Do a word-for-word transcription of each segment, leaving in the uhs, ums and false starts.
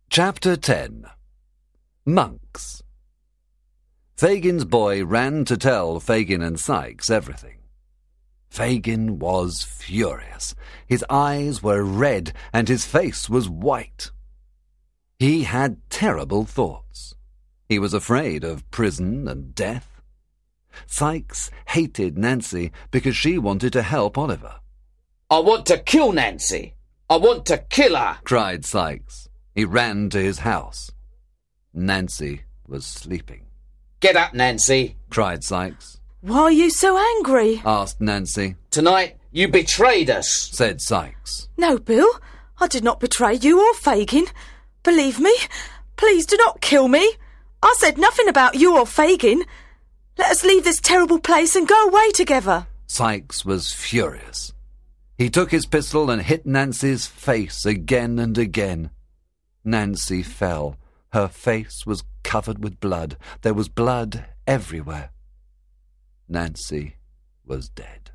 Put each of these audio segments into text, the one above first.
Chapter ten. Monks. Fagin's boy ran to tell Fagin and Sikes everything. Fagin was furious. His eyes were red and his face was white. He had terrible thoughts. He was afraid of prison and death. Sikes hated Nancy because she wanted to help Oliver. "I want to kill Nancy! I want to kill her!" cried Sikes. He ran to his house. Nancy was sleeping. "Get up, Nancy!" cried Sikes. "Why are you so angry?" asked Nancy. "Tonight you betrayed us," said Sikes. "No, Bill, I did not betray you or Fagin. Believe me, please do not kill me. I said nothing about you or Fagin. Let us leave this terrible place and go away together." Sikes was furious. He took his pistol and hit Nancy's face again and again. Nancy fell. Her face was covered with blood. There was blood everywhere. Nancy was dead.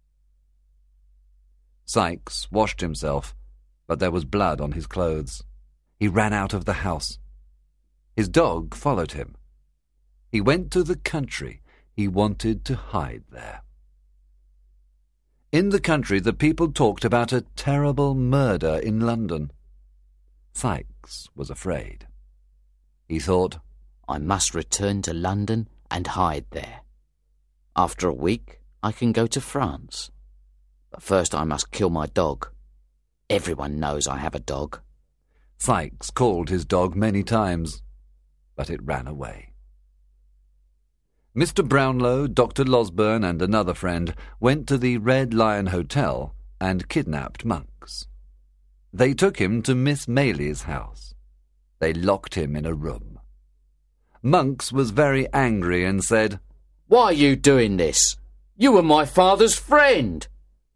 Sikes washed himself, but there was blood on his clothes. He ran out of the house. His dog followed him. He went to the country. He wanted to hide there. In the country, the people talked about a terrible murder in London. Sikes was afraid. He thought, "I must return to London and hide there. After a week, I can go to France. But first I must kill my dog. Everyone knows I have a dog." Sikes called his dog many times, but it ran away. Mister Brownlow, Doctor Losberne, and another friend went to the Red Lion Hotel and kidnapped Monks. They took him to Miss Maylie's house. They locked him in a room. Monks was very angry and said, "Why are you doing this? You were my father's friend."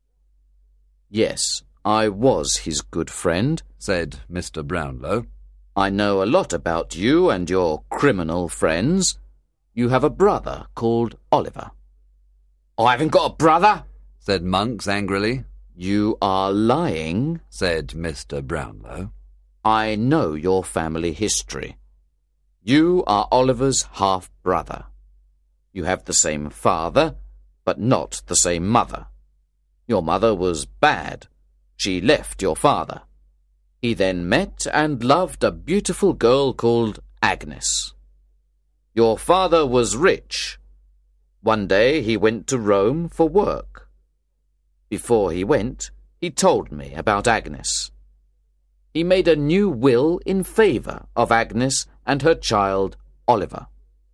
"Yes, I was his good friend," said Mister Brownlow. "I know a lot about you and your criminal friends. You have a brother called Oliver." "I haven't got a brother," said Monks angrily. "You are lying," said Mister Brownlow. "I know your family history. You are Oliver's half-brother. You have the same father, but not the same mother. Your mother was bad. She left your father. He then met and loved a beautiful girl called Agnes. Your father was rich. One day he went to Rome for work. Before he went, he told me about Agnes. He made a new will in favour of Agnes and her child, Oliver.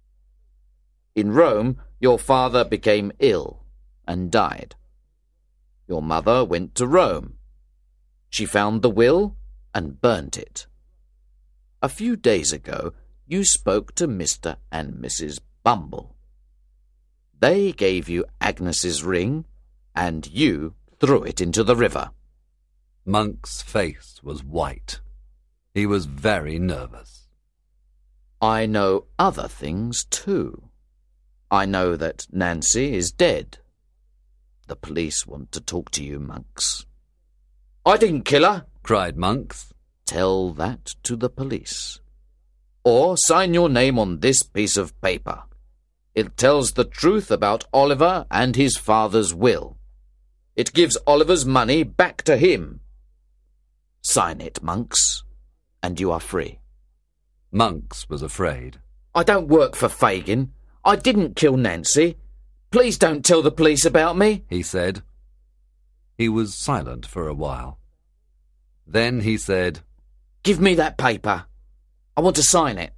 In Rome, your father became ill and died. Your mother went to Rome. She found the will and burnt it. A few days ago, you spoke to Mister and Missus Bumble. They gave you Agnes's ring, and you threw it into the river." Monk's face was white. He was very nervous. "I know other things, too. I know that Nancy is dead. The police want to talk to you, Monks." "I didn't kill her," cried Monks. "Tell that to the police. Or sign your name on this piece of paper. It tells the truth about Oliver and his father's will. It gives Oliver's money back to him. Sign it, Monks, and you are free." Monks was afraid. "I don't work for Fagin. I didn't kill Nancy. Please don't tell the police about me," he said. He was silent for a while. Then he said, "Give me that paper. I want to sign it."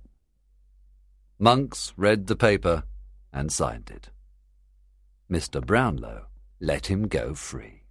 Monks read the paper and signed it. Mister Brownlow let him go free.